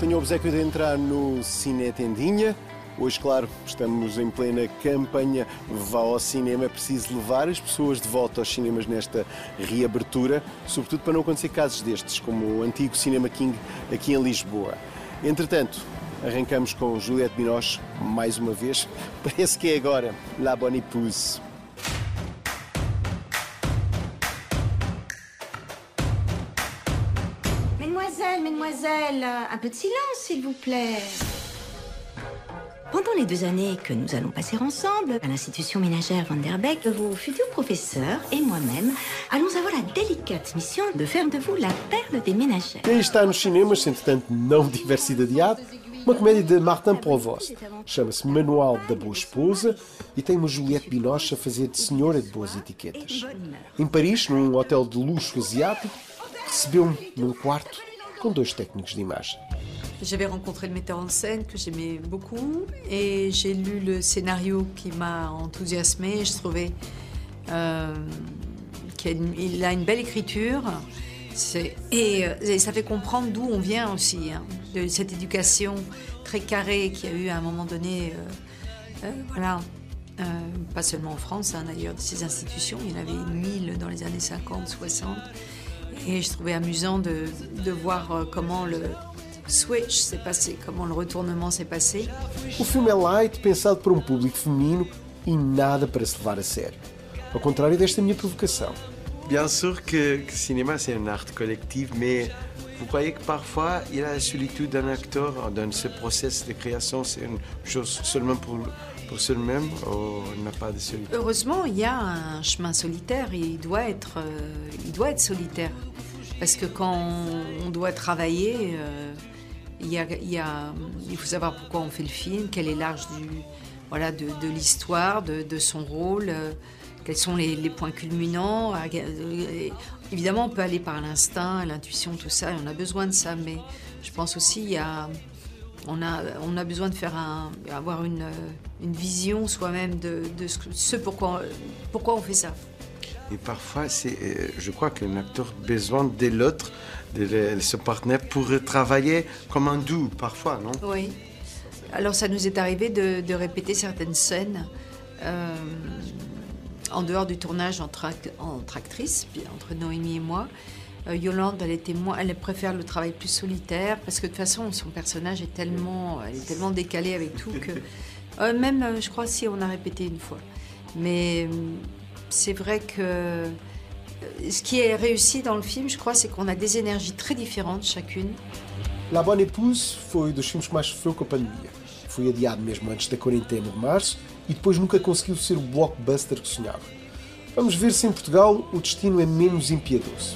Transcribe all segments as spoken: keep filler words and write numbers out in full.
Tenho o obséquio de entrar no Cine Tendinha. Hoje, claro, estamos em plena campanha Vá ao Cinema. É preciso levar as pessoas de volta aos cinemas nesta reabertura, sobretudo para não acontecer casos destes, como o antigo Cinema King aqui em Lisboa. Entretanto, arrancamos com Juliette Binoche, mais uma vez. Parece que é agora La Bonne Épouse. Mesdemoiselles, mesdemoiselles, un peu de silence, s'il vous plaît. Pendant les deux années que nous allons passer ensemble à l'institution ménagère Van der Beek, vos futurs professeurs et moi-même allons avoir la délicate mission de faire de vous la perle des ménagères. Quem está nos cinemas, se entretanto não tiver sido adiado, uma comédia de Martin Provost. Chama-se Manual da Boa Esposa e tem uma Juliette Binoche a fazer de senhora de boas etiquetas. Em Paris, num hotel de luxo asiático, recebeu-me num quarto com dois técnicos de imagem. J'avais rencontré le metteur en scène que j'aimais beaucoup et j'ai lu le scénario qui m'a enthousiasmée. Je trouvais euh, qu'il a une belle écriture et, et ça fait comprendre d'où on vient aussi, hein, de cette éducation très carrée qu'il y a eu à un moment donné, euh, euh, voilà, euh, pas seulement en France, hein, d'ailleurs, de ces institutions. Il y en avait mille dans les années cinquante, soixante et je trouvais amusant de, de voir comment le switch s'est passé, comment le retournement s'est passé. O filme é light, pensado para um público feminino e nada para se levar a sério. Ao contrário desta minha provocação. Bien sûr que le cinéma c'est un art collectif, mais vous croyez que parfois il a la solitude d'un acteur dans ce processus de création, c'est une chose seulement pour, pour soi-même ou il n'a pas de solitude? Heureusement, il y a un chemin solitaire et il doit être, euh, il doit être solitaire. Parce que quand on doit travailler, euh, il, y a, il, y a, il faut savoir pourquoi on fait le film, quel est l'âge du, voilà, de, de l'histoire, de, de son rôle, euh, quels sont les, les points culminants. Et évidemment, on peut aller par l'instinct, l'intuition, tout ça, et on a besoin de ça, mais je pense aussi qu'il y a, on a, on a besoin de faire un, avoir une, une vision soi-même de, de ce, ce pourquoi, pourquoi on fait ça. Et parfois, c'est, je crois qu'un acteur a besoin de l'autre, de son partenaire, pour travailler comme un duo, parfois, non? Oui. Alors, ça nous est arrivé de, de répéter certaines scènes euh, en dehors du tournage entre, entre actrices, entre Noémie et moi. Euh, Yolande, elle, était moins, elle préfère le travail plus solitaire, parce que de toute façon, son personnage est tellement, elle est tellement décalée avec tout que... Euh, même, je crois, si, on a répété une fois. Mais... c'est vrai que ce qui est réussi dans le film, je crois, c'est qu'on a des énergies très différentes chacune. La Bonne Épouse foi dos filmes que mais sofreu com a pandemia. Foi adiado mesmo antes da quarentena de março e depois nunca conseguiu ser o blockbuster que sonhava. Vamos ver se em Portugal o destino é menos impiedoso.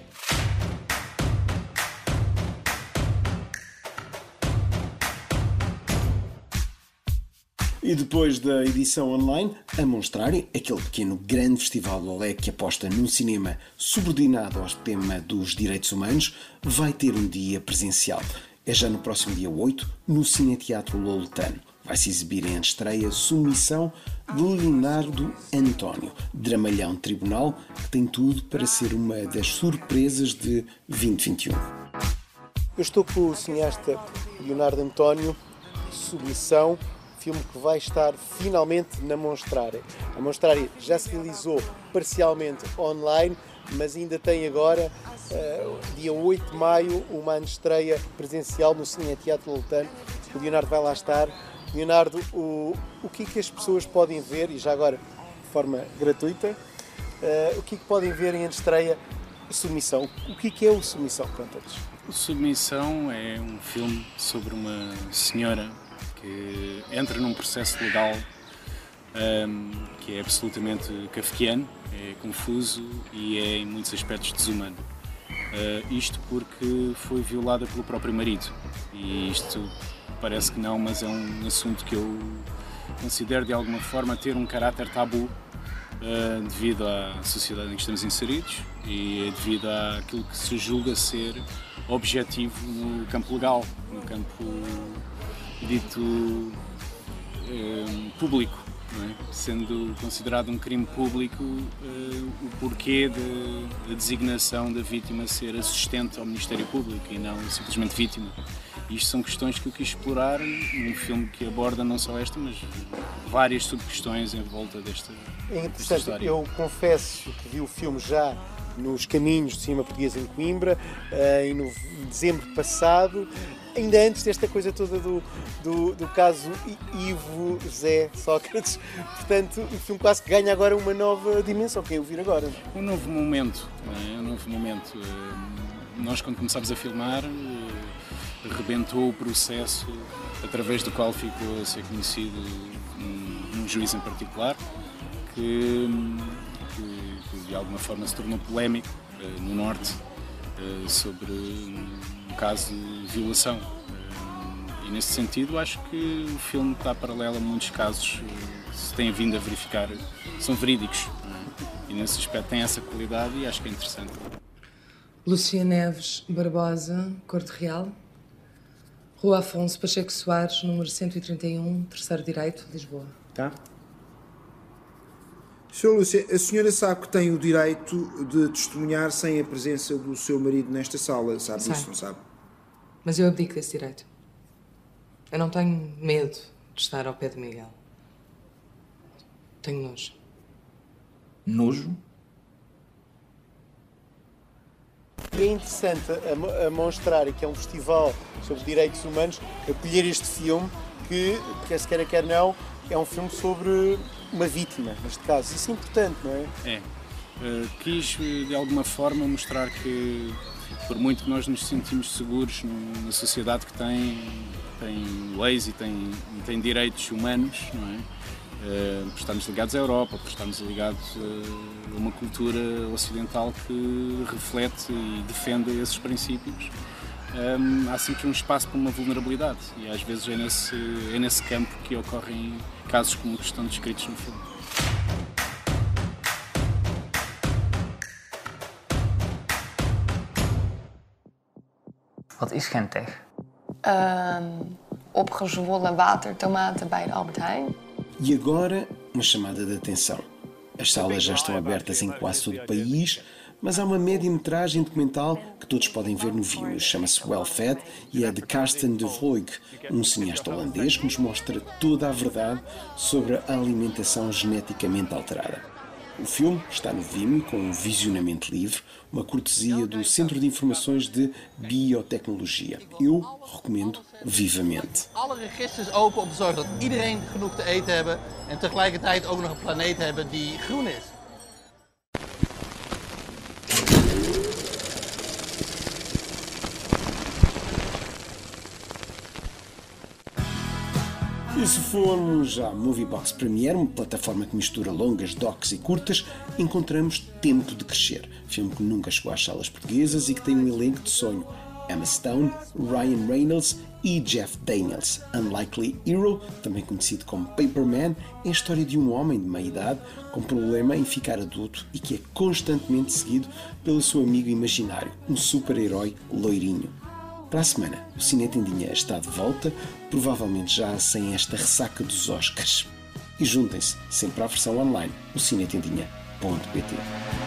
E depois da edição online, a Monstrari, aquele pequeno grande festival do Olé que aposta num cinema subordinado ao tema dos direitos humanos, vai ter um dia presencial. É já no próximo dia oito, no Cineteatro Loletano. Vai-se exibir em estreia Submissão de Leonardo António, dramalhão de tribunal que tem tudo para ser uma das surpresas de vinte vinte e um. Eu estou com o cineasta Leonardo António, Submissão, filme que vai estar finalmente na Monstrari. A Monstrari já se realizou parcialmente online, mas ainda tem agora, uh, dia oito de maio, uma antestreia presencial no Cineteatro Loletano. O Leonardo vai lá estar. Leonardo, o, o que é que as pessoas podem ver, e já agora de forma gratuita, uh, o que é que podem ver em antestreia Submissão? O que é que é o Submissão? Conta-nos. O Submissão é um filme sobre uma senhora que entra num processo legal um, que é absolutamente kafkiano, é confuso e é em muitos aspectos desumano. Uh, isto porque foi violada pelo próprio marido. E isto parece que não, mas é um assunto que eu considero de alguma forma ter um caráter tabu uh, devido à sociedade em que estamos inseridos e devido àquilo que se julga ser objetivo no campo legal, no campo dito eh, público, não é? Sendo considerado um crime público eh, o porquê da de, de designação da vítima ser assistente ao Ministério Público e não simplesmente vítima. Isto são questões que eu quis explorar num filme que aborda não só esta, mas várias subquestões em volta desta, É desta interessante, história. eu confesso que vi o filme já nos caminhos de cinema português em Coimbra, em no- em dezembro passado, ainda antes desta coisa toda do, do, do caso I- Ivo Zé Sócrates. Portanto, o filme quase que ganha agora uma nova dimensão, que é ouvir agora. Um novo momento, não é? Um novo momento. Eh, Nós, quando começámos a filmar, eh, rebentou o processo através do qual ficou a ser conhecido um, um juiz em particular, que, que, que de alguma forma se tornou polémico eh, no Norte eh, sobre um caso de violação. Eh, E nesse sentido, acho que o filme está paralelo a muitos casos eh, que se têm vindo a verificar, são verídicos. Não é? E nesse aspecto tem essa qualidade e acho que é interessante. Lúcia Neves Barbosa, Corte Real. Rua Afonso Pacheco Soares, número cento e trinta e um, Terceiro Direito, Lisboa. Tá? senhora Lúcia, a senhora sabe que tem o direito de testemunhar sem a presença do seu marido nesta sala, sabe Sei. isso, não sabe? Mas eu abdico desse direito. Eu não tenho medo de estar ao pé de Miguel. Tenho nojo. Nojo? E é interessante a, mo- a mostrar que é um festival sobre direitos humanos, acolher este filme que, quer se queira quer não, é um filme sobre uma vítima, neste caso. Isso é importante, não é? É. Uh, quis, uh, de alguma forma, mostrar que, por muito que nós nos sentimos seguros numa sociedade que tem, tem leis e tem, e tem direitos humanos, não é? Uh, por estarmos ligados à Europa, por estarmos ligados uh, a uma cultura ocidental que reflete e defende esses princípios, um, há sempre um espaço para uma vulnerabilidade e às vezes é nesse, é nesse campo que ocorrem casos como os que estão descritos no filme. Wat is Gentech? Um, opgezwollen watertomaten bij de Albert Heijn. E agora, uma chamada de atenção. As salas já estão abertas em quase todo o país, mas há uma média-metragem documental que todos podem ver no Vimeo. Chama-se Well Fed e é de Karsten de Voig, um cineasta holandês que nos mostra toda a verdade sobre a alimentação geneticamente alterada. O filme está no Vimeo com um visionamento livre, uma cortesia do Centro de Informações de Biotecnologia. Eu recomendo vivamente. Alle registers open om te zorgen dat iedereen genoeg te eten hebben en tegelijkertijd ook nog een planeet hebben die groen is. E se formos à Moviebox Premiere, uma plataforma que mistura longas, docs e curtas, encontramos Tempo de Crescer, filme que nunca chegou às salas portuguesas e que tem um elenco de sonho. Emma Stone, Ryan Reynolds e Jeff Daniels. Unlikely Hero, também conhecido como Paperman, é a história de um homem de meia-idade com problema em ficar adulto e que é constantemente seguido pelo seu amigo imaginário, um super-herói loirinho. Para a semana, o Cine Tendinha está de volta, provavelmente já sem esta ressaca dos Oscars. E juntem-se sempre à versão online no cinetendinha ponto pt.